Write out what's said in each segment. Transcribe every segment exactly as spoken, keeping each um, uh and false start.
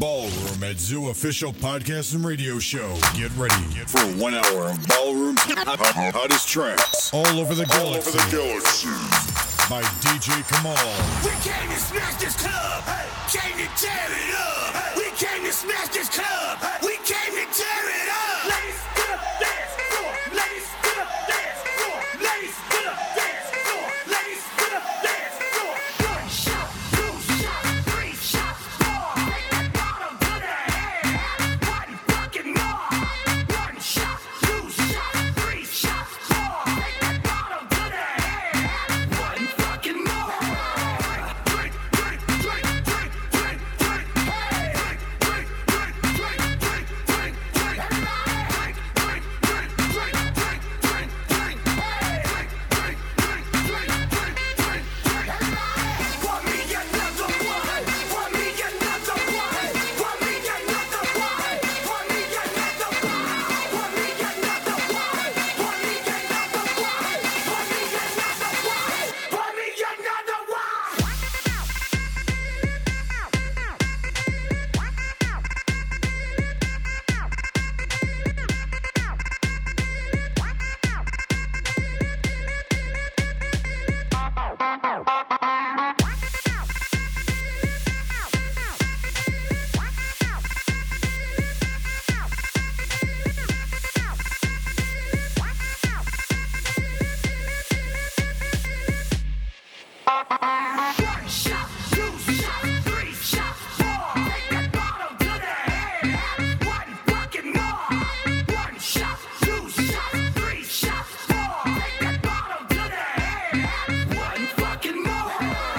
Ballroom at Zoo official podcast and radio show. Get ready for one hour of Ballroom's hottest tracks all over the galaxy. All over the galaxy. By D J Kamal. We came to smash this club. Hey. Came to tear it up. Hey. We came to smash this club. Hey. We came to tear it up. Ladies to the dance floor. Ladies to the dance floor. Ladies to the dance floor. Ladies to the dance floor. One shot, two shots, three shots, four. Take that bottom to the head. One fucking more. One shot, two shots, three shots, four. Take that bottom to the head. One fucking more. Drink, drink, drink, drink, drink, drink. Hey, drink, drink, drink, drink, drink, drink, drink. Drink, drink, drink, drink, drink, drink, drink. Hey, drink, drink, drink, drink, drink, drink, drink. Pour me another one. Pour me another one. Pour me another one. Pour me another one. Pour me another one. Pour me another one. Pour me another one. Pour me another one. One shot, two shots, three shots, four. Take that bottom to the head. One fucking more. One shot, two shots, three shots, four. Take that bottom to the head. One fucking more.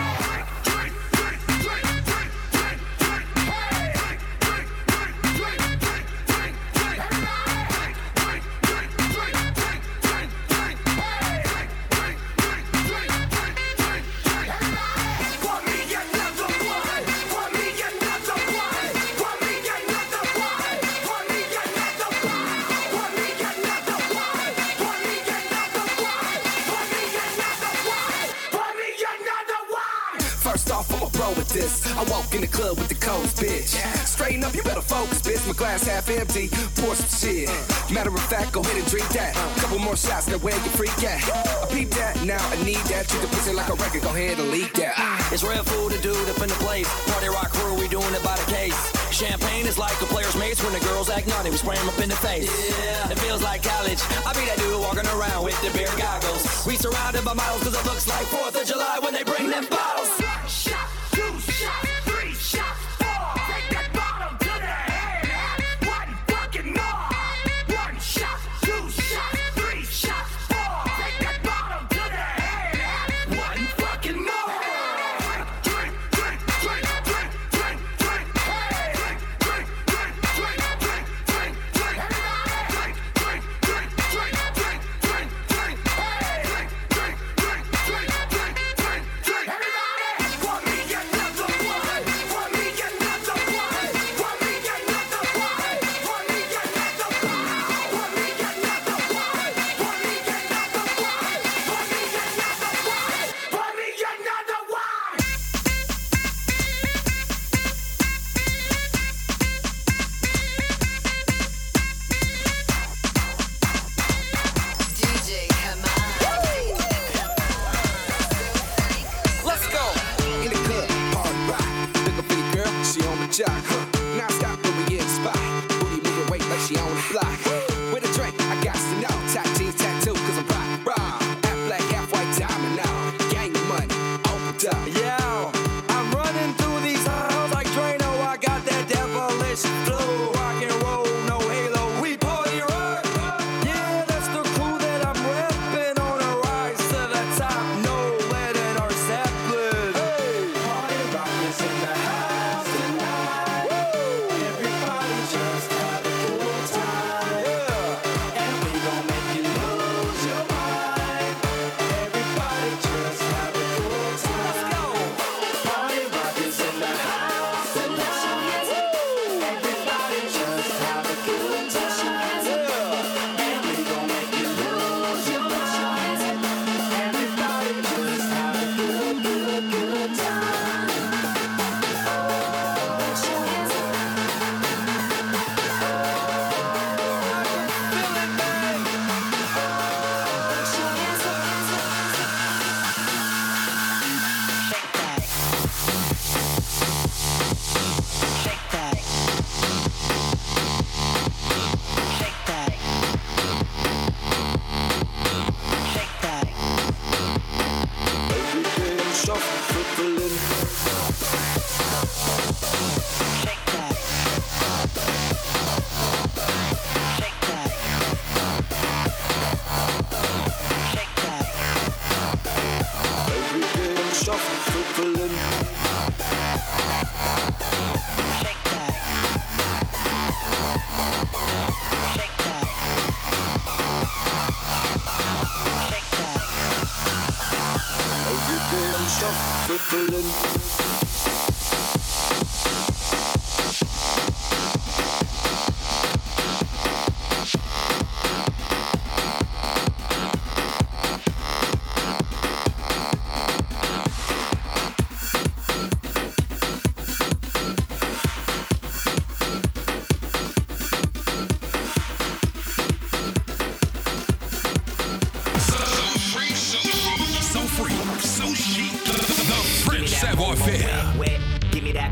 Drink, drink, drink, drink, drink, drink, drink. Hey, drink, drink, drink, drink, drink, drink, drink. Drink, drink, drink, drink, drink, drink, drink. Hey, drink, drink, drink, drink, drink, drink, drink. Pour me another one. Pour me another one. Pour me another one. Pour me another one. Pour me another one. Pour me another one. Pour me another one. Pour me another one. First off, I'm a pro with this. I walk in the club with the codes, bitch. Straighten up, you better focus, bitch. My glass half empty, pour some shit. Matter of fact, go ahead and drink that. Couple more shots, now where you freak at? I peep that, now I need that. Treat the pussy like a record, go ahead and leak that. Ah. It's real food to do up in the place. Party rock crew, we doing it by the case. Champagne is like a player's mates when the girls act naughty. We spray 'em up in the face. Yeah, it feels like college. I be that dude walking around with the beer goggles. We surrounded by models cause it looks like fourth of July when they bring them bottles. One shot, two shots, three shots, four. Take that bottom to the head. One fucking more. One shot, two shots, three shots, four. Take that bottom to the head. One fucking more. Drink, drink, drink, drink, drink, drink. Hey, drink, drink, drink, drink, drink, drink, drink. Drink, drink, drink, drink, drink, drink, drink. Hey, drink, drink, drink, drink, drink, drink, drink. Everybody, pour me another one. Pour me another one. Pour me another one. Pour me another one. Pour me another one. Pour me another one. Pour me another one. Pour me another one. D J Kamal. Let's go. In the club, hard rock. Looking for your girl, she on the jock. Huh. Now stop when we in the spot. Booty moving weight like she on the fly. With a drink, I got to know. Tight jeans, tattoo, cause I'm rock, rock. Half black, half white diamond now. Gang of money, opened up. Yeah, I'm running through these halls like Drano. I got that devilish flow. Rock and roll, no halo. We party rock. Yeah, that's the crew that I'm repping on a rise to the top. No letting our Zeppelin. Hey, party rock is in the house tonight.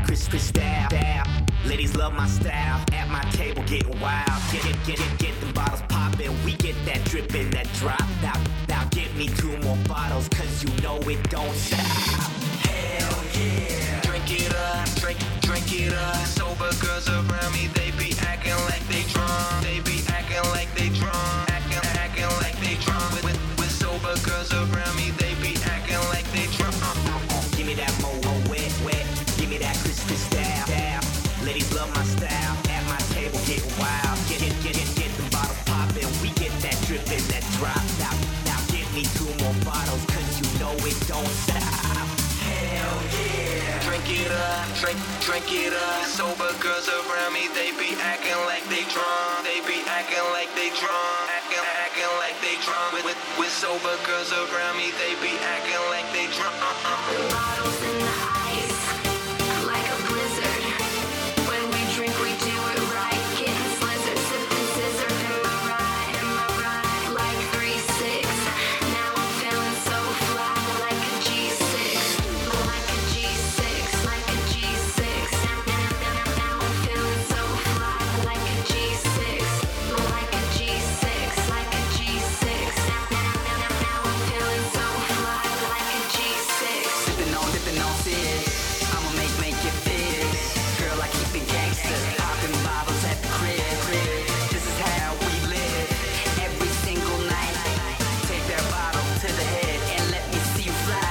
Chris Chris style. Ladies love my style. At my table getting wild. Get get get get, get them bottles poppin'. We get that drippin', that drop. Now now get me two more bottles, cause you know it don't stop. Hell yeah. Drink it up, drink, drink it up. Sober girls around me, they be acting like they drunk. They be acting like they drunk. Acting, acting like they drunk. With, with, with sober girls around me, they be acting like they drunk. Give me that mo mo wet wet. Give me that Chris Chris style. style. Ladies love my style. At my table getting wild. Get get get get get them bottles poppin'. We get that drippin', that drop. Now now give me two more bottles, cause you know it don't stop. Hell yeah. Drink it up, drink, drink it up. Sober girls around me, they be acting like they drunk. They be acting like they drunk. Acting, acting like they drunk. With, with, with sober girls around me, they be acting like they drunk. The bottles in the ice, like a blizzard. When we drink, we do it right. Getting slizzard, sipping scissor. Am I right? Am I right? Like three six. Now I'm feeling so fly, like a G six. Like a G six, like a G six. Now I'm feeling so fly, like a G six. Like a G six, like a G six. Now I'm feeling so fly, like a G six. Sipping on, dipping on sis. I'ma make, make it fit. Girl, I keep it gangster. Popping bottles at the crib. This is how we live. Every single night. Take that bottle to the head and let me see you fly.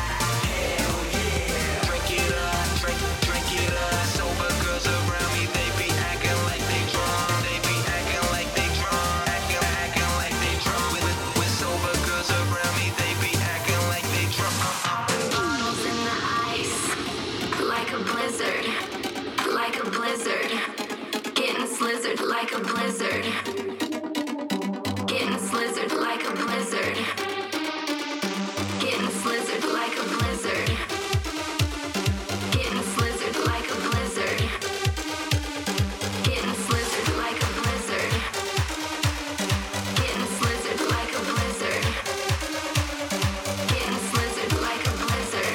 Hell yeah. Drink it up, drink, drink it up. Sober girls around me, they be acting like they drunk. They be acting like they drunk. Acting, acting like they drunk. With, with, with sober girls around me, they be acting like they drunk. Bottles in the ice, like a blizzard, like a blizzard. Getting slizzard like a blizzard. Getting slizzard like a blizzard. Getting slizzard like a blizzard. Getting slizzard like a blizzard. Getting slizzard like a blizzard. Getting slizzard like a blizzard. Getting slizzard like a blizzard.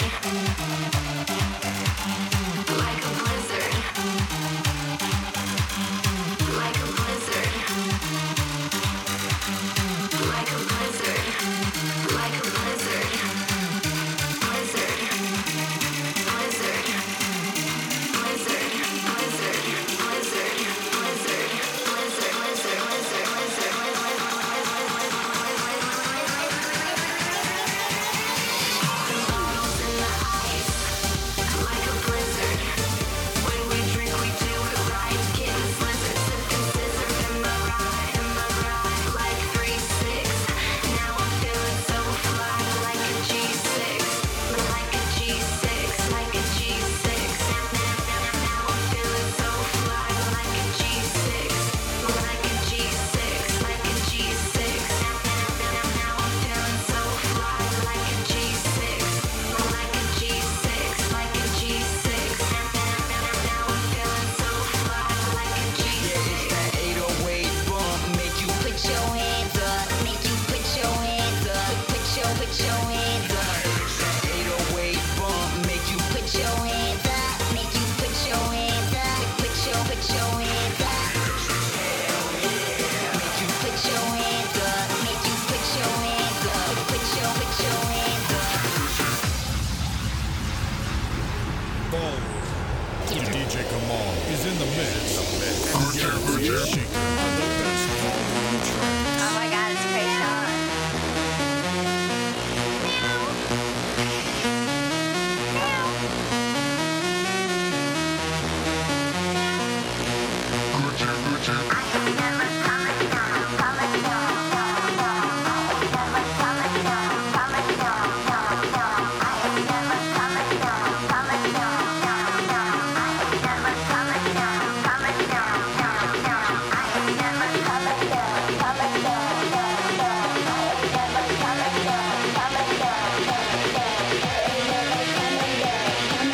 Like a blizzard. Like a blizzard. Like a blizzard. Like a blizzard. Blizzard. Blizzard. Blizzard. Blizzard. Blizzard. Blizzard. Blizzard. Blizzard. Blizzard. Bottles in the ice, like a blizzard. When we drink, we do it right. Getting slizzard, sipping scissor. Am I right? Am I right? Like three six. Now I'm feeling so fly, like a G six. Like a G six, like a G six. Now I'm feeling so fly, like a G six. Like a G six, like a G six. Now I'm feeling so fly, like a G six. Like a G six, like a G six. Now I'm feeling so fly, like a G six. That eight oh eight bump make you put your hands up, make you put your hands up, put your, put your hands up. That eight oh eight bump make you put your hands up, make you put your hands up, put your, put your hands up. Hell yeah. Make you put your hands up, make you put your hands up, put your, put your hands up. Ballroom. D J Kamal is in the mix. Get shaking on the best ballroom tracks. Oh my god, it's Krayshawn.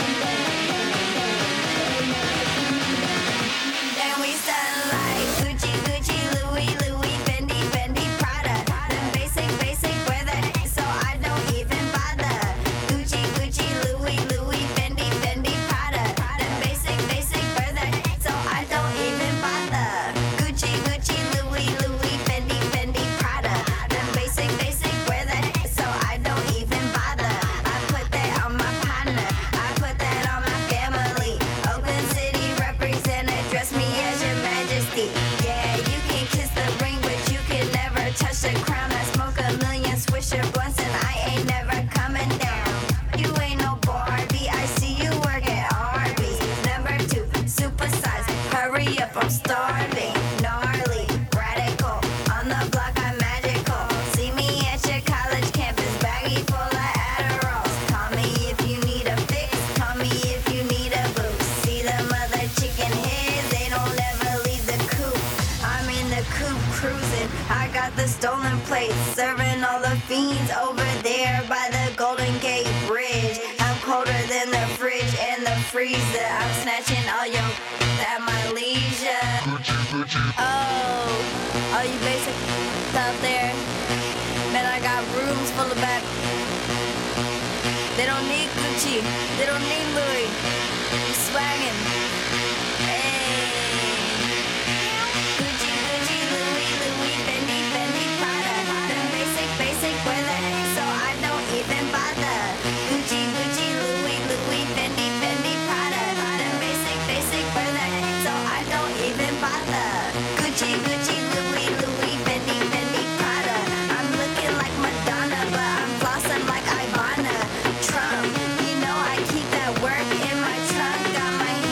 Then we stand like Gucci starving, gnarly, radical. On the block, I'm magical. See me at your college campus, baggy full of Adderalls. Call me if you need a fix, call me if you need a boost. See them other chicken heads, they don't ever leave the coop. I'm in the coop cruising, I got the stolen plates, serving all the fiends over there by the Golden Gate Bridge. I'm colder than the fridge and the freezer. I'm snatching all your at my leisure. Oh, all you basic out there, man, I got rooms full of back. They don't need Gucci, they don't need Louis. I'm swaggin'. Hey. Gucci, Gucci, Louis, Louis, Fendi, Fendi, Prada. The basic, basic, where the heck, so I don't even bother. Gucci, Gucci, Louis, Louis, Fendi, Fendi, Prada. The basic, basic, where the heck, so I don't even bother. Gucci, Gucci, Louis, Louis, Fendi, Fendi, Prada. I'm looking like Madonna, but I'm flossing like Ivana Trump. You know I keep that work in my trunk. Got my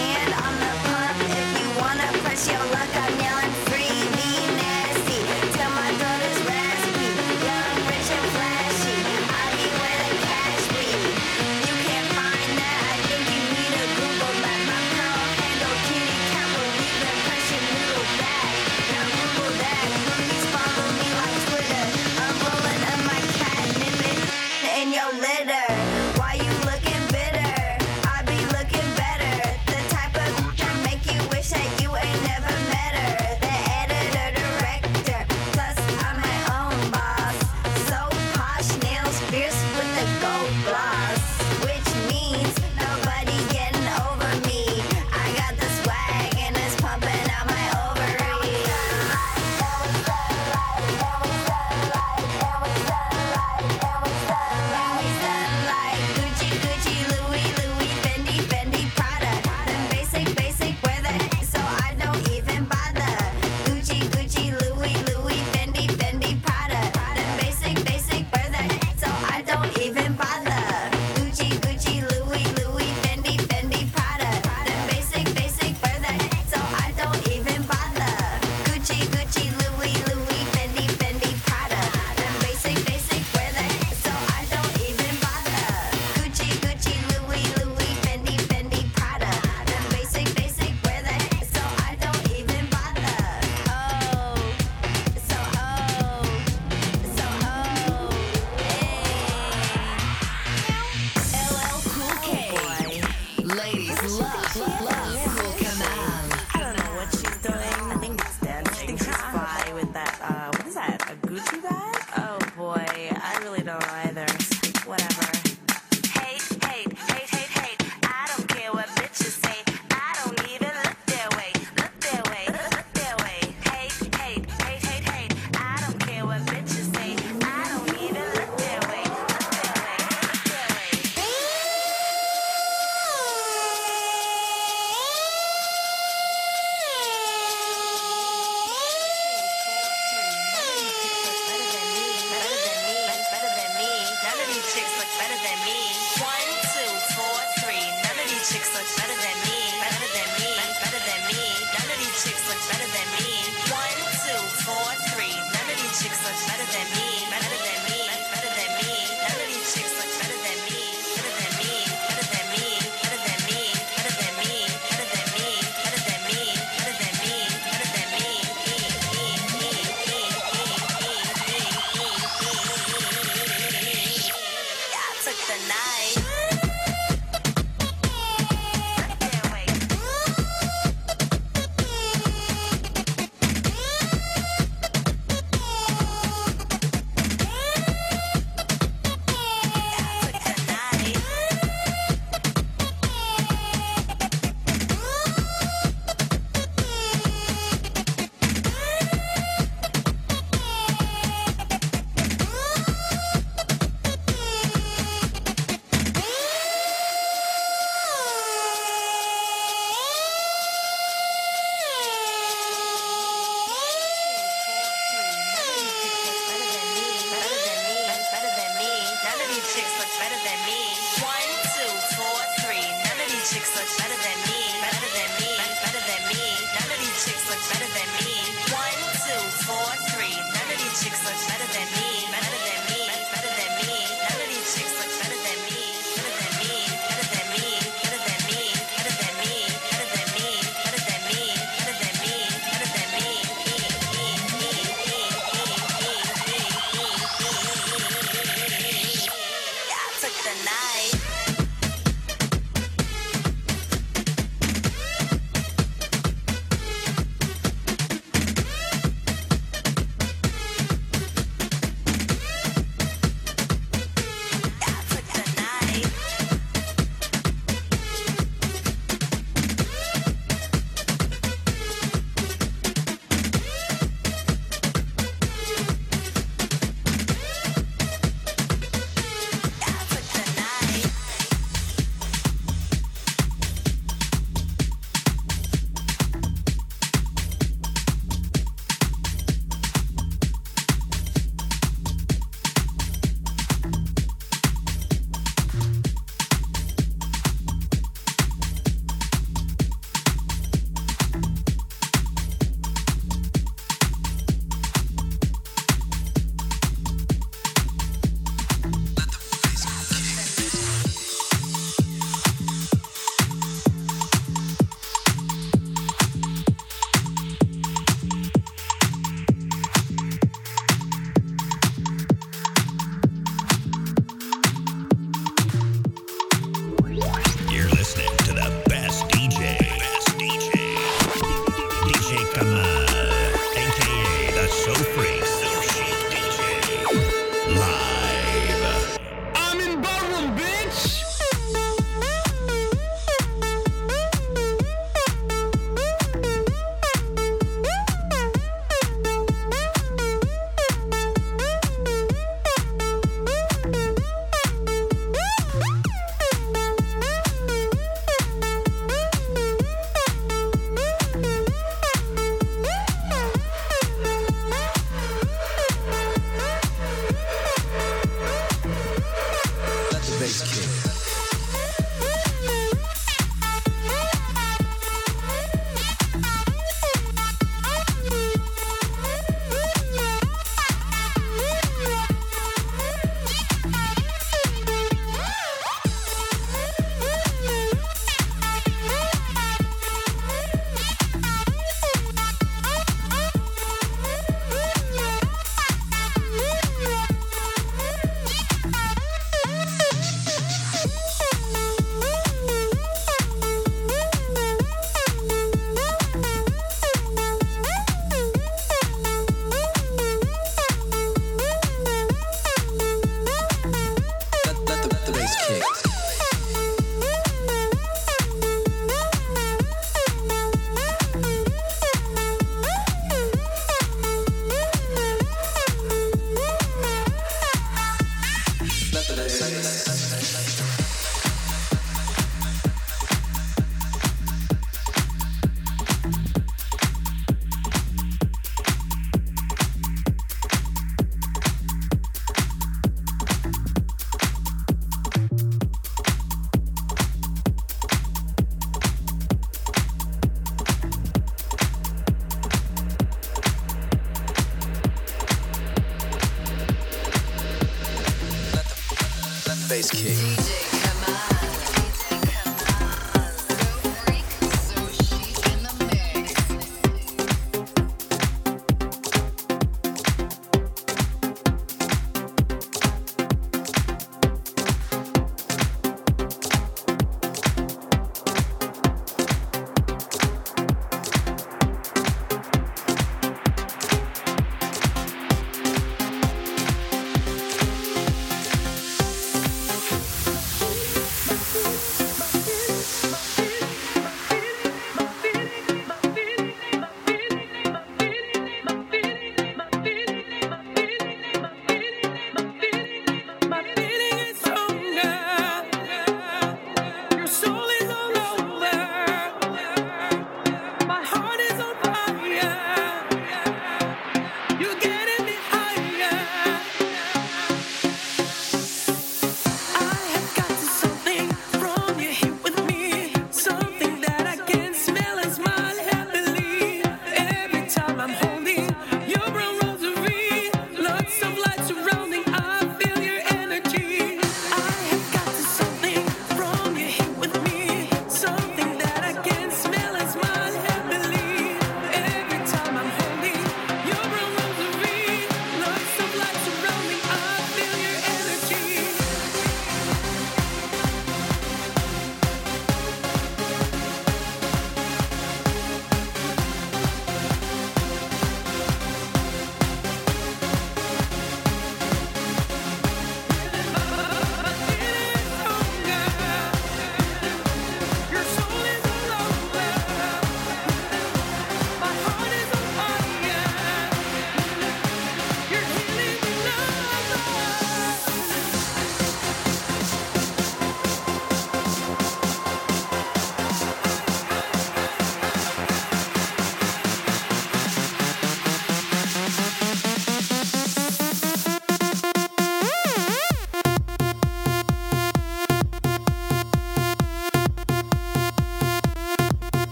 bass kick. D J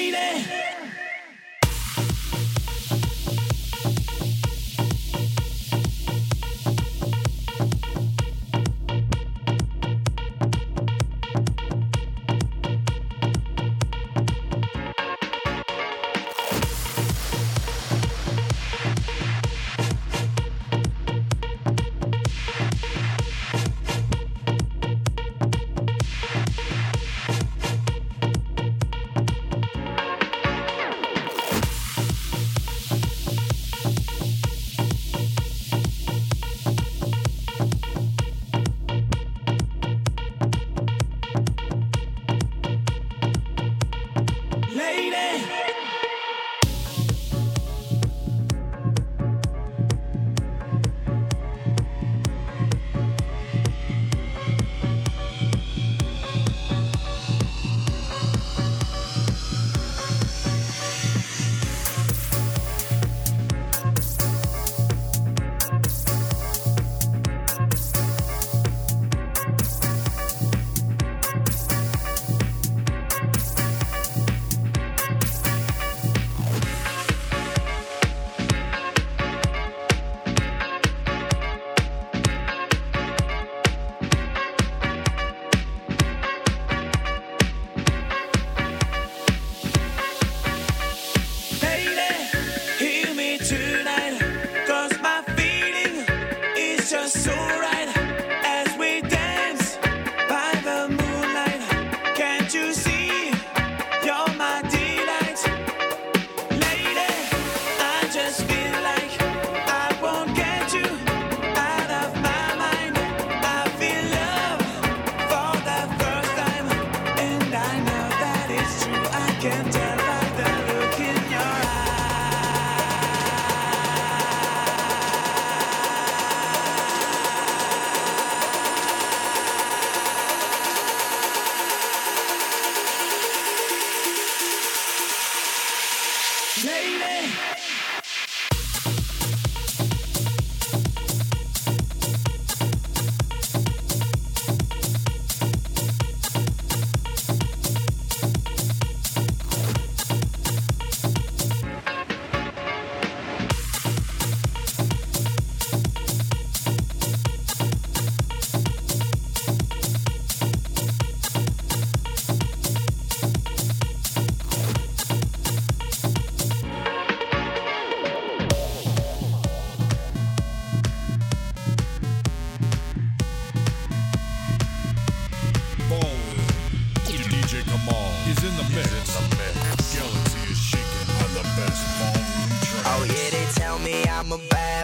I'm a bad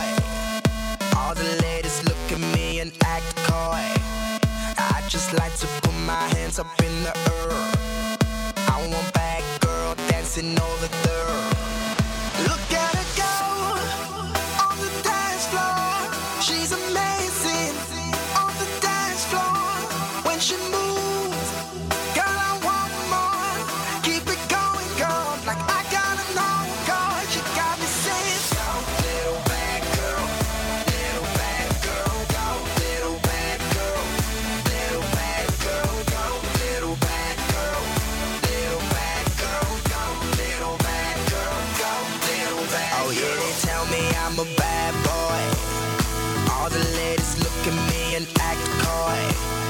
boy. All the ladies look at me and act coy. I just like to put my hands up in the air. I want bad girl dancing over there. Look at her go on the dance floor. She's amazing on the dance floor. When she moves, girl, I want more. Keep it going, girl, like I gotta know, girl. You got me saying, go, little bad girl, little bad girl, go, little bad girl, little bad girl, go, little bad girl, little bad girl, go, little bad girl, go, little bad girl. Oh yeah, they tell me I'm a bad boy. All the ladies look at me and act coy.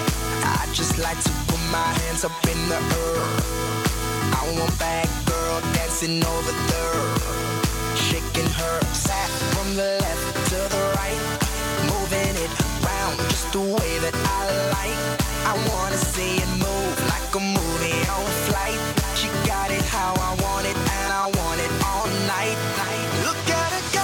I just like to put my hands up in the air. I want bad girl dancing over there, shaking her sack from the left to the right, moving it round just the way that I like. I wanna see it move like a movie on flight. She got it how I want it, and I want it all night. Look at her go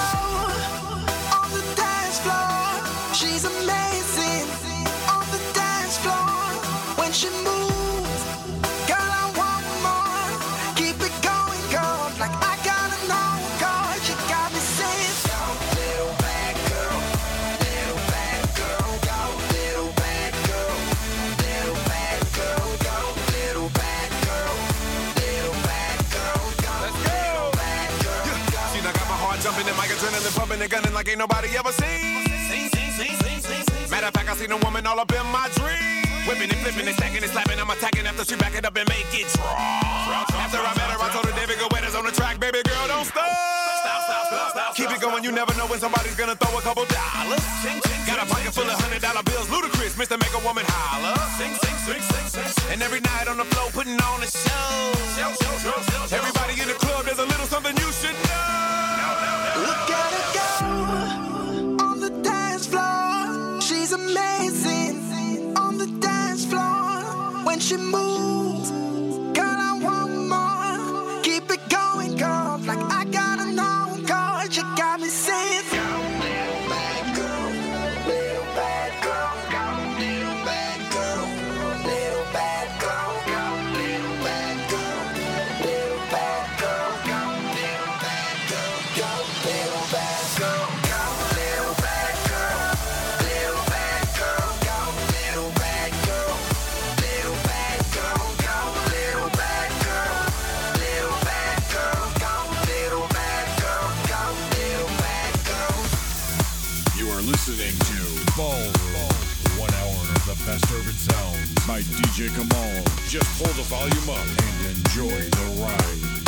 on the dance floor. She's amazing on the dance floor. When she moves, girl, I want more. Keep it going, girl, like I gotta know, girl. You got me saying, go, little bad girl, little bad girl, go, little bad girl, little bad girl, go, little bad girl, little bad girl, go, little bad girl, go. See, I got my heart jumping and my adrenaline pumping and gunning like ain't nobody ever seen. Matter of fact, I seen a woman all up in my dreams. Whipping and flipping and stacking and slapping. I'm attacking after she back it up and make it drop. After I met her, I told her David Guetta's on the track. Baby girl, don't stop. Stop, stop, stop, stop. Keep it going, you never know when somebody's gonna throw a couple dollars. Got a pocket full of hundred dollar bills, ludicrous, Mister Make a Woman holler. Sing, sing, sing, sing, sing. And every night on the floor, putting on a show. Everybody in the club, there's a little something you should know. Look at her go on the dance floor. She's amazing on the dance floor. When she moves, girl, I want more. Keep it going, girl, like I got an own card. You got me saying, go, little bad girl, little bad girl, go, little bad girl, little bad girl, go, little bad girl, little bad girl, go, little bad girl, go, little bad girl, go, little bad girl, little bad girl, go, little bad girl, little bad girl, go, little bad girl, little bad girl, go, little bad girl, go, little bad girl. You are listening to Ballroom. One hour of the best urban sounds by D J Kamal. Just pull the volume up and enjoy the ride.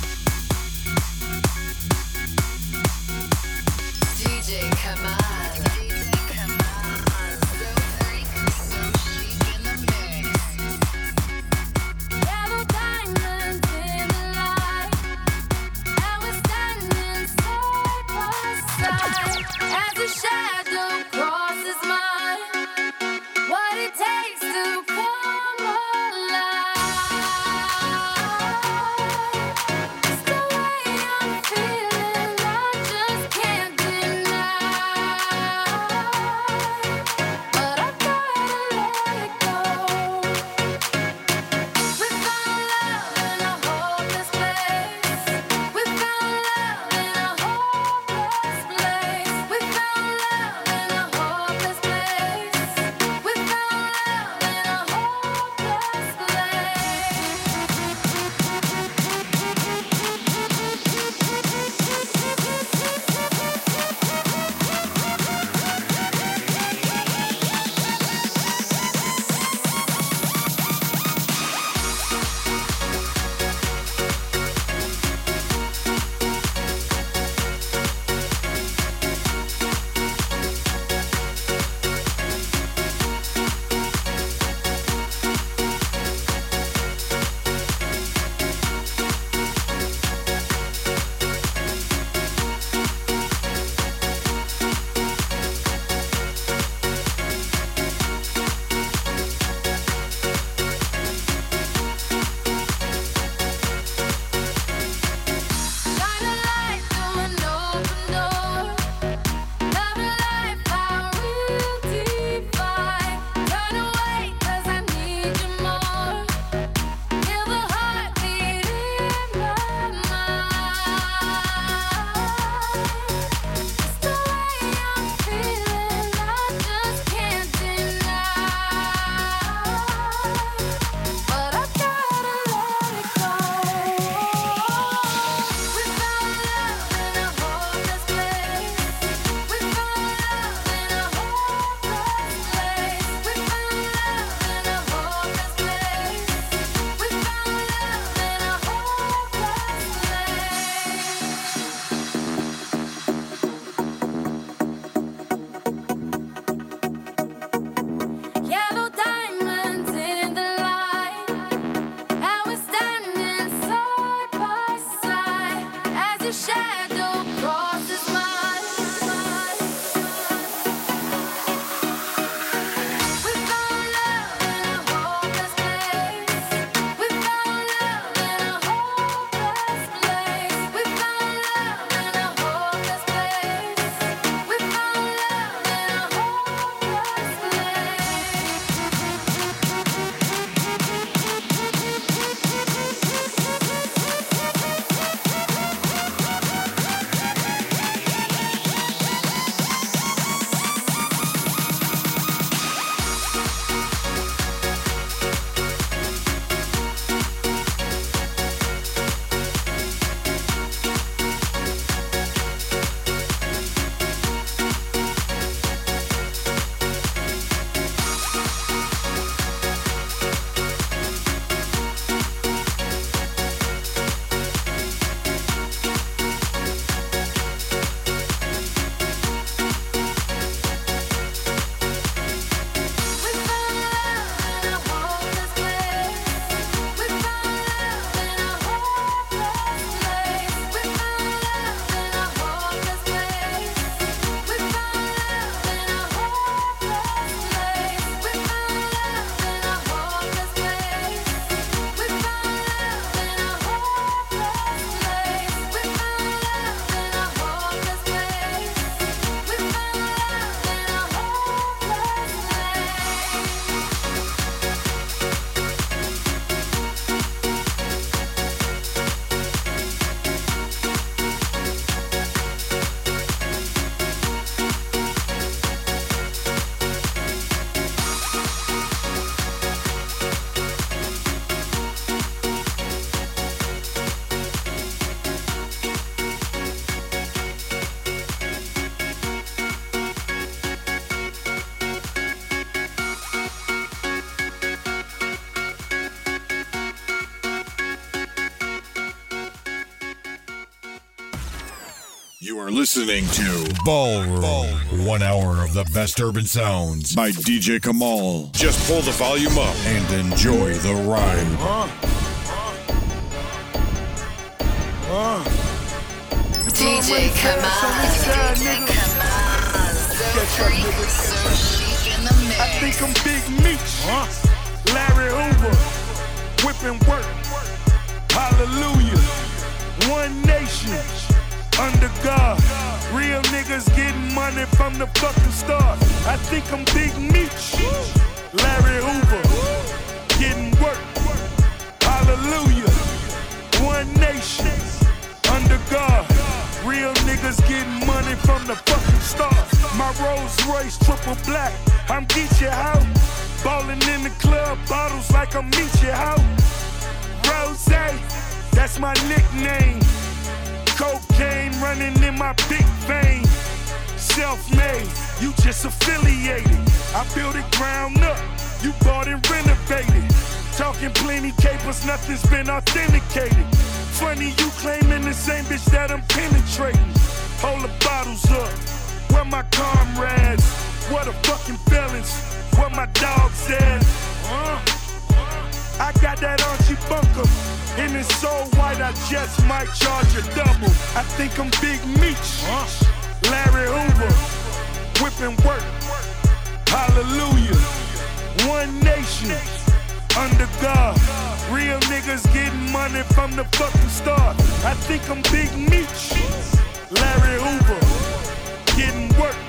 D J Kamal. So freak, so chic in the mix. Yellow diamonds in the light, and we're standing side by side as the shadow crosses mine. What it takes to come alive. It's the way I'm feeling, I just can't deny. You are listening to Ballroom. Ballroom. One hour of the best urban sounds by D J Kamal. Just pull the volume up and enjoy the ride. Uh, uh, D J Kamal. D J Kamal. So freak, so chic in the mix. I think I'm Big Meech. Uh, Larry Hoover. Whipping work. Hallelujah. One nation. Under God, real niggas getting money from the fucking start. I think I'm Big Meech, Larry Hoover, getting work. Hallelujah, one nation, under God. Real niggas getting money from the fucking start. My Rolls Royce triple black, I'm Geechee out. Ballin' in the club, bottles like I'm Meechee out. Rose, that's my nickname. Cocaine running in my big vein. Self-made, you just affiliated. I built it ground up, you bought and renovated. Talking plenty capers, nothing's been authenticated. Funny you claiming the same bitch that I'm penetrating. Hold the bottles up, where my comrades? What a fucking felons, what my dog said. Uh, I got that Archie Bunker. And it's so white, I just might charge a double. I think I'm Big Meech, Larry Hoover, whipping work. Hallelujah, one nation, under God. Real niggas getting money from the fucking start. I think I'm Big Meech, Larry Hoover, getting work.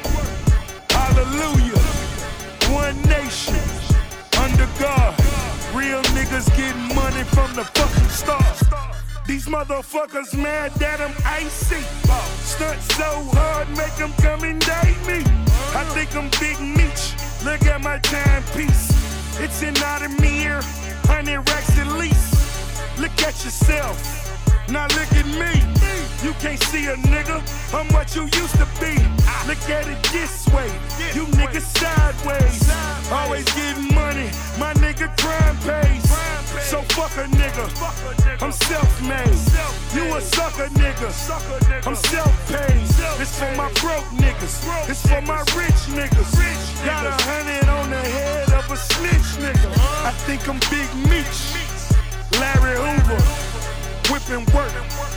Hallelujah, one nation, under God. Real niggas getting money from the fucking start. These motherfuckers mad that I'm icy. Stunt so hard, make them come and date me. I think I'm Big Meech, look at my timepiece. It's an Audemars, hundred racks at least. Look at yourself, now look at me. You can't see a nigga, I'm what you used to be. Look at it this way, you niggas sideways. Always getting money, my nigga crime pays. So fuck a nigga, I'm self-made. You a sucker nigga, I'm self-paid. It's for my broke niggas, it's for my rich niggas. Got a hundred on the head of a snitch nigga. I think I'm Big Meech, Larry Hoover, whipping work.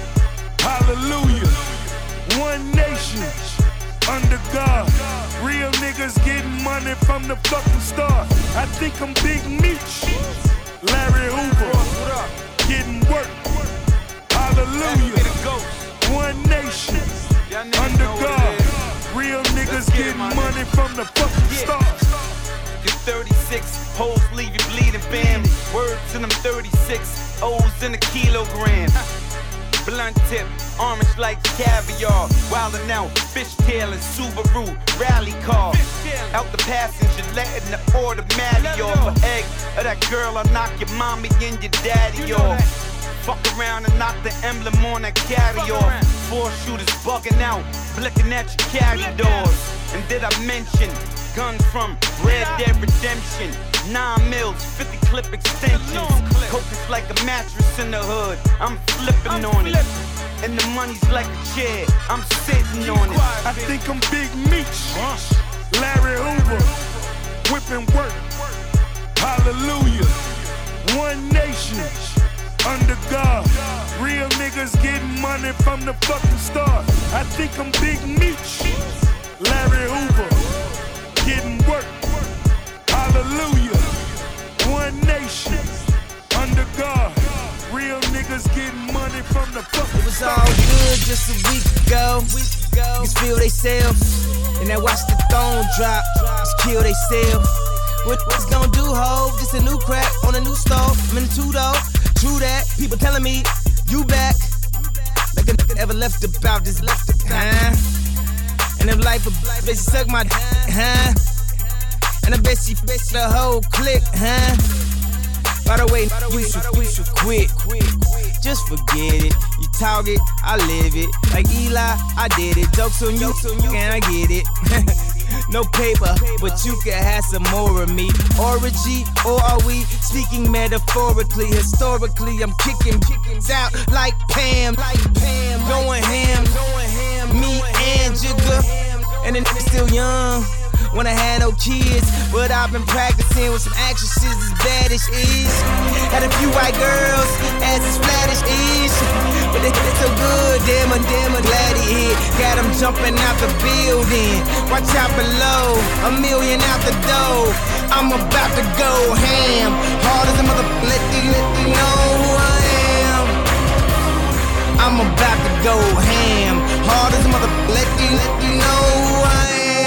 Hallelujah, one nation, under God. Real niggas getting money from the fucking start. I think I'm Big Meech, Larry Hoover, getting work. Hallelujah, one nation, under God. Real niggas getting money from the fucking start. You're thirty-six, hoes leave you bleeding, bam. Words to them thirty-six, O's in a kilogram. Blunt tip, orange like caviar. Wildin' out, fishtail and Subaru rally car. Out the passenger, letting the automatic off. An egg of that girl, I'll knock your mommy and your daddy off. Fuck around and knock the emblem on that carry off. Four shooters bugging out, blicking at your carry doors. And did I mention guns from Red Dead Redemption? Nine mils, fifty clip extensions. Coke is like a mattress in the hood. I'm flipping on it. And the money's like a chair. I'm sitting on it. I think I'm Big Meech, Larry Hoover, whipping work. Hallelujah, one nation, under God. Real niggas getting money from the fucking start. I think I'm Big Meech, Larry Hoover, getting work. Hallelujah, one nation, under God. Real niggas getting money from the fucking It was all good just a week ago. Niggas feel they self, and then watch the throne drop. Just kill they self. What what's gonna do, ho? Just a new crack on a new stove. I'm in the two though. True that. People telling me you back. Like a nigga ever left about this left about. Huh? And if life a bitch, she suck my d- huh? And I bet she bitch the whole clique, huh? By the way, you should, you should quit. Just forget it. You talk it, I live it. Like Eli, I did it. Jokes on you, and I get it. No paper, but you can have some more of me. Orgy, or are we speaking metaphorically? Historically, I'm kicking chickens out like Pam, like Pam, going ham, going ham. me and Jigga. And the nigga still young, when I had no kids. But I've been practicing with some actresses as bad as is. Had a few white girls, ass as flat as is. But they they so good, damn, I'm damn, I'm glad he hit. Got them jumping out the building. Watch out below, a million out the door. I'm about to go ham. Hard as a mother, let you, let you know who I am. I'm about to go ham. Hard as a mother, let you, let you know who I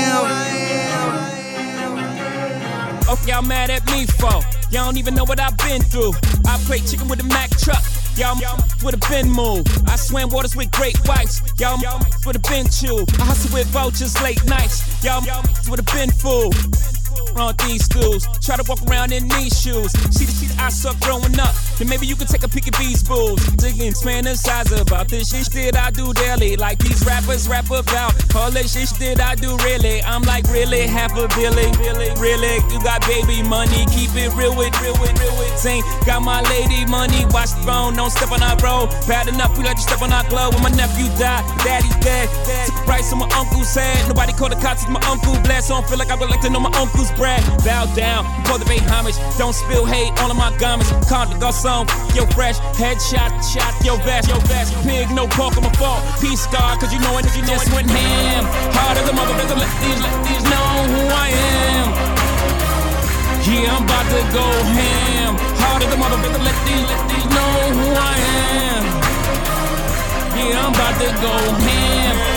am. Oh, y'all mad at me for? Y'all don't even know what I've been through. I play chicken with a Mack truck. Y'all with a bin move. I swam waters with great whites. Y'all with a bin chew. I hustle with vultures late nights. Y'all with a bin fool. On these stools, try to walk around in these shoes. See the shit I suck growing up. Then maybe you can take a peek at these bulls. Digging, fantasize about this shit that I do daily. Like these rappers rap about all this shit that I do really. I'm like really half a billy, really, really. You got baby money, keep it real with, real with, real with. Sing, got my lady money, watch the phone, don't step on our road. Bad enough, we let you step on our glove. When my nephew died, daddy's dead. Took a price on my uncle's head. Nobody called the cops, my uncle blessed. So I don't feel like I would like to know my uncle's bread. Bow down, cultivate homage. Don't spill hate all of my garments. Conde Garçon, yo fresh. Headshot, shot, yo vest, yo vest. Pig, no pork on my fault. Peace star, cause you know it, you just went ham. Hard as a motherfucker, let these, let these know who I am. Yeah, I'm about to go ham. Hard as a motherfucker, let these, let these know who I am. Yeah, I'm about to go ham.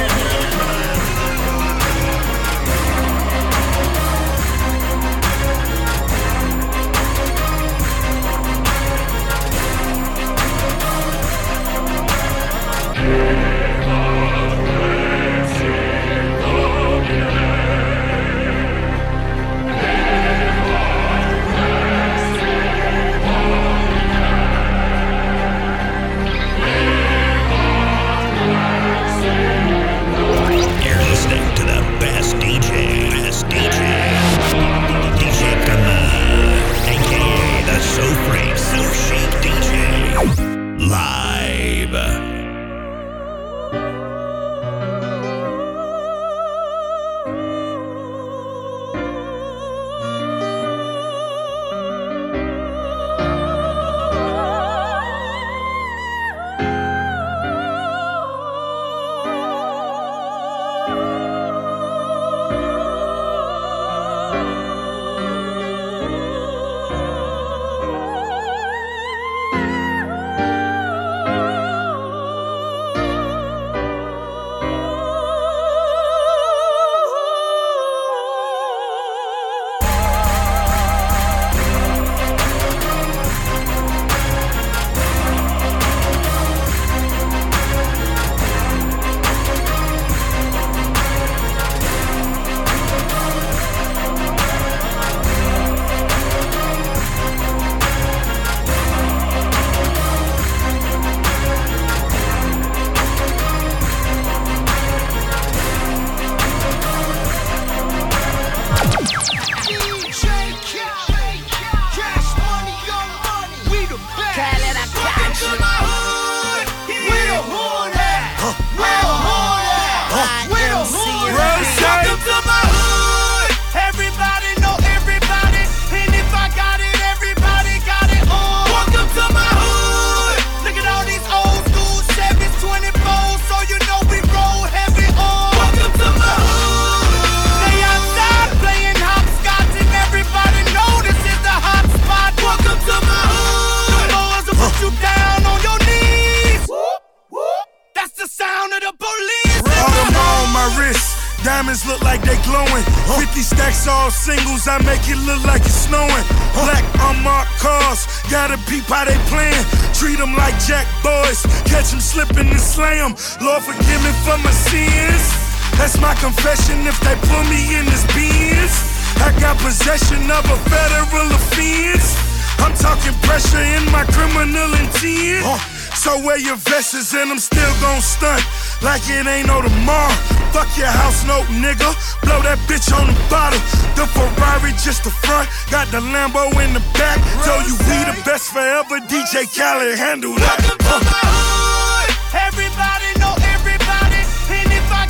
fifty stacks all singles, I make it look like it's snowing. Black unmarked cars, gotta peep how they playin'. Treat them like jack boys, catch them slipping and slam. Lord forgive me for my sins. That's my confession if they put me in this Benz. I got possession of a federal offense. I'm talking pressure in my criminal intent. So wear your vests and I'm still gon' stunt like it ain't no tomorrow. Fuck your house note, nigga. Blow that bitch on the bottom. The Ferrari just the front, got the Lambo in the back. Tell you we the best forever. D J Khaled handle that. Welcome to my hood. Everybody know everybody. And if I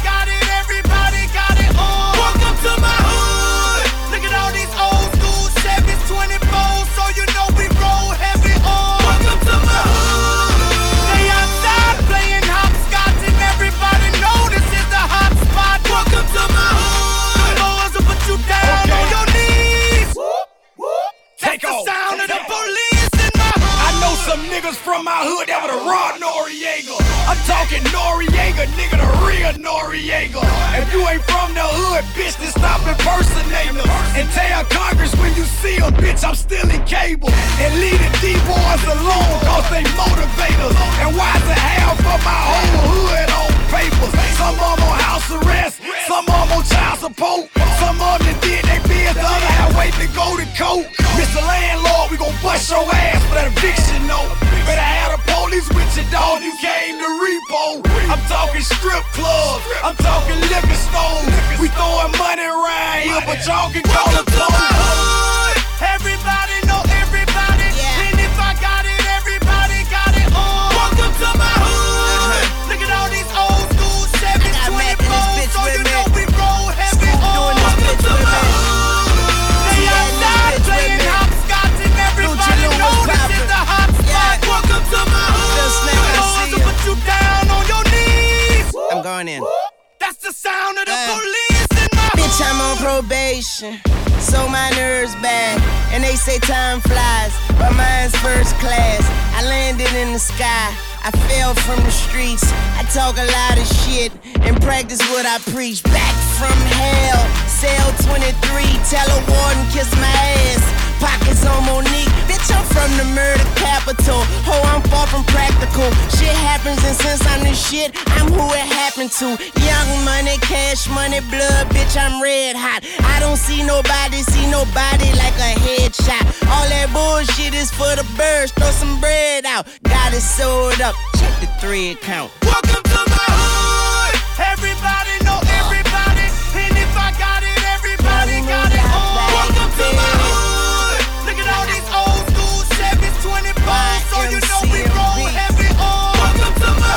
niggas from my hood that were the raw Noriega. I'm talking Noriega, nigga, the real Noriega. If you ain't from the hood, bitch, then stop impersonating us. And tell Congress when you see them, bitch, I'm still in cable. And leave the D-boys alone, cause they motivate us. And why the hell for my whole hood on papers? Some of them on house arrest, some of them on child support. Some of them that did they biz, the other half wait to go to court. Mister Landlord, we gon' bust your ass for that eviction note. Better have the police with you, dog, you came to repo. I'm talking strip clubs, I'm talking liquor stores. We throwing money around here, but y'all can call it clothes. Everybody know everybody, yeah. And if I got it, everybody got it on. Welcome to my hood. Look at all these old school Chevy twenty-fours, so you know we roll heavy on. Welcome to my hood. They outside playing hopscotch and everybody know this is the hot spot. Welcome to my hood. So put you down on your knees. I'm going in. That's the sound of the uh, police in my hood. Bitch, I'm on probation, so my nerves bad. And they say time flies, but mine's first class. I landed in the sky, I fell from the streets. I talk a lot of shit and practice what I preach. Back from hell, cell twenty-three, tell a warden kiss my ass. Pockets on Monique, bitch, I'm from the murder capital. Ho, I'm far from practical. Shit happens, and since I'm the shit, I'm who it happened to. Young money, cash money, blood, bitch, I'm red hot. I don't see nobody, see nobody like a headshot. All that bullshit is for the birds, throw some bread out. Got it sold up, check the thread count. Welcome to my hood. Everybody know everybody, and if I got it, everybody got it on. Welcome to my hood. Look at all these old school Chevys twenty-fours, so you know we roll heavy on. Welcome to my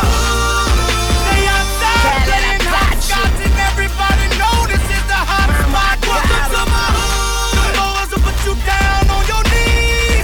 hood. They outside playing hopscotch and everybody know this is the hot spot. Welcome to my hood. The boys will put you down on your knees.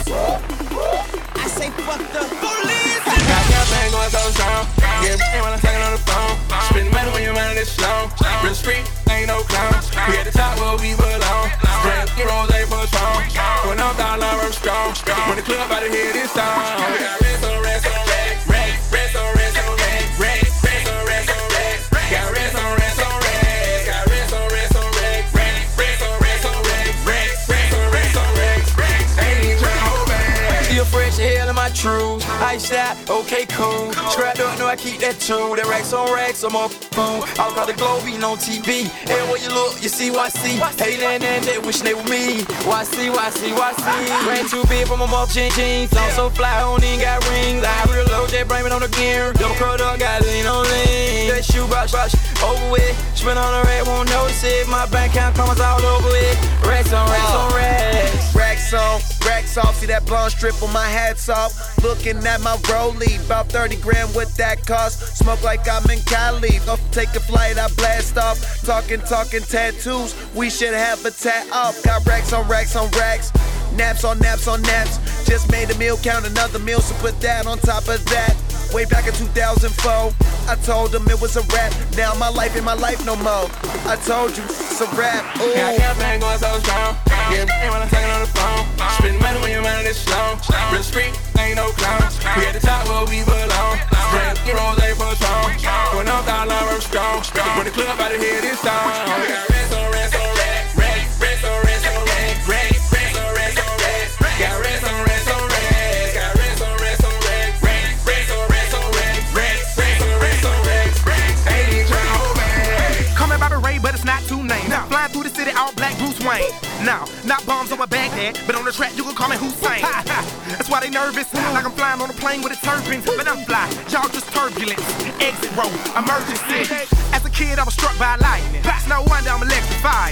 I say fuck the police. Got campaign going so strong. Get me when I'm talking on the phone. Spend money when you're running this long. Real street, ain't no clown. We at the top where we belong. Grand heroes ain't for strong. When I'm down, I'm strong. When the club out of here this time. We got rest on rest on rest. Rest on rest on rest. Rest on rest on rest. Got rest on rest on rest. Got rest on rest on rest. Rest on rest on rest. Rest on rest on rest. Ain't even trying to hold back. Still fresh hell in my trues. Ice out, okay, cool. Scrapped up, know I keep that too. That racks on racks, I'm up boom. All across the globe, eating on T V. Everywhere you look, you see Y C. Hey, and and they wishing they were me. Y C, Y C, Y C. Ran too big for my muff jeans. I'm so fly, I don't even got rings. I real low, J bring it on the gear. Double cut up, got lean on lean. That shoe brush, brush, over with. Spin on the rack, won't notice it. My bank account comes all over it. Racks on racks on racks. Racks on, racks off. See that blonde strip on my hats off. Looking at my rollie, about thirty grand what that cost. Smoke like I'm in Cali. Off take a flight, I blast off. Talking, talking tattoos. We should have a tat off. Got racks on racks on racks. Naps on naps on naps. Just made a meal, count another meal, so put that on top of that. Way back in two thousand four, I told them it was a rap. Now my life ain't my life no more. I told you it's a rap. Ooh. Got campaign going so strong. Get me when I'm talking on the phone. Spend money when you're running this long. Real street, ain't no clown. We at the top where we belong. Grand heroes ain't for strong. When I'm down, I'm strong. When the club out of here this time. We got rest on rest on rest. Rest on rest on rest. Rest on rest on rest. Got rest on rest on rest. Got rest on rest on rest. Rest on rest on rest. Rest on rest on rest. Ain't even trying to hold back. Call me Bobby Ray, but it's not too named. No. Flying through the city, all black Bruce Wayne. No, not bombs over Baghdad, but on the track you can call me Hussein. That's why they nervous, like I'm flying on a plane with a turbine. But I'm fly, y'all just turbulence. Exit road, emergency. As a kid, I was struck by lightning. It's no wonder I'm electrified.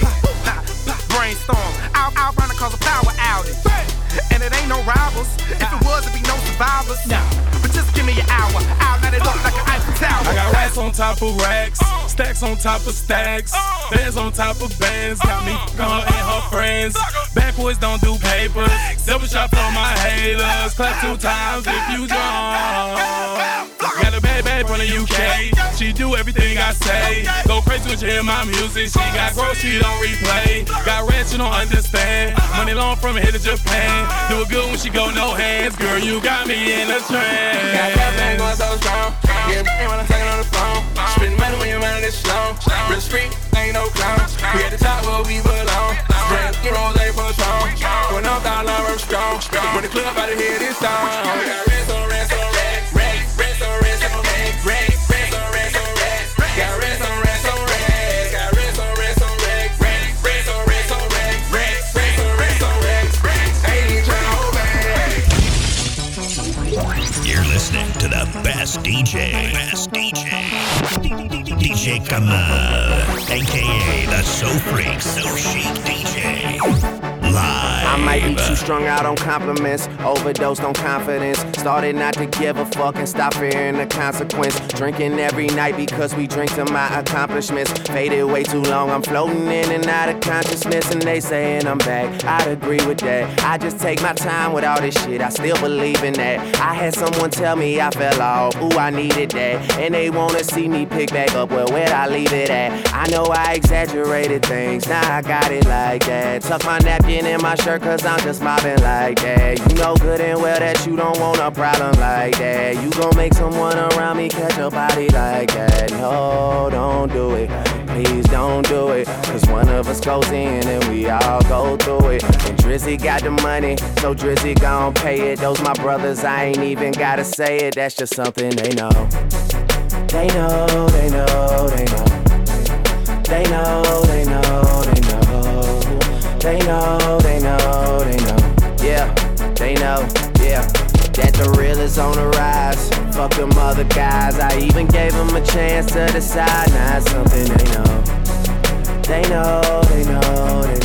Brainstorm, I'll, I'll run it cause a power outage. And it ain't no rivals. If it was, it'd be no survivors. But just give me an hour, I'll let it look like an Eiffel Tower. I got racks on top of racks, stacks on top of stacks, bands on top of bands. Got me f***ing her and her friends. Backwards don't do pay. papers. Double shot for my haters. Clap two times if you drunk. Got a bad bad from the U K. She do everything I say. Go crazy when she hear my music. She got growth, she don't replay. Got rats, you don't understand. Money long from here to Japan. Do it good when she go no hands. Girl, you got me in a trance. Got that thing going so strong. Yeah, when I'm talking on the phone. Spend money when your mind is slow. Real street, ain't no clown. We at the top where we belong. Brand new rose, ain't for strong. Going up, down, I'm strong. When the club out of here, this song. We got rest on rest on rest. Rest, rest on rest on rest. Rest, rest on rest on rest. Got rest on rest on rest. Got rest on rest on rest. Rest, rest on rest on rest. Rest, rest on rest on rest. Ain't even tryna hold back. You're listening to the best D J. Best D J. D J Kamal, aka the So Freak, So Chic D J. Live. I might be too strung out on compliments, overdosed on confidence. Started not to give a fuck and stop fearing the consequence. Drinking every night because we drink to my accomplishments. Faded way too long, I'm floating in and out of consciousness. And they saying I'm back, I'd agree with that. I just take my time with all this shit, I still believe in that. I had someone tell me I fell off, ooh, I needed that. And they wanna see me pick back up, well, where'd I leave it at? I know I exaggerated things, now I got it like that. Tuck my napkin in my shirt cause I'm just mobbing like that. You know good and well that you don't want a problem like that. You gon' make someone around me catch a body like that. No, don't do it, please don't do it. Cause one of us goes in and we all go through it. And Drizzy got the money, so Drizzy gon' pay it. Those my brothers, I ain't even gotta say it. That's just something they know. They know, they know, they know. They know, they know, they know. They know, they know, they know. Yeah, they know, yeah. That the real is on the rise. Fuck them other guys. I even gave them a chance to decide. Now it's something they know. They know, they know, they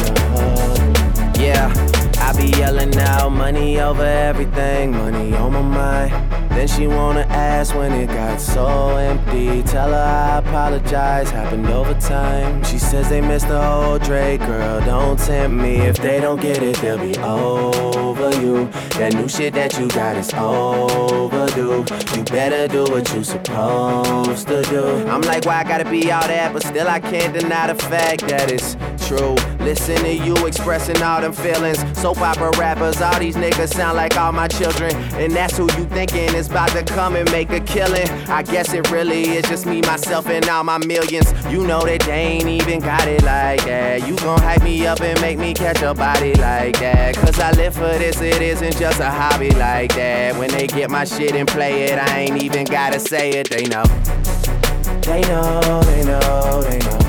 know. Yeah, I be yelling out money over everything. Money on my mind. Then she wanna ask when it got so empty. Tell her I apologize, happened over time. She says they missed the whole Drake, girl, don't tempt me. If they don't get it, they'll be over you. That new shit that you got is overdue. You better do what you supposed to do. I'm like, why I gotta be all that? But still I can't deny the fact that it's true. Listen to you expressing all them feelings. Soap opera rappers, all these niggas sound like all my children. And that's who you thinking is about to come and make a killing. I guess it really is just me, myself, and all my millions. You know that they ain't even got it like that. You gon' hype me up and make me catch a body like that. Cause I live for this, it isn't just a hobby like that. When they get my shit and play it, I ain't even gotta say it. They know. They know, they know, they know.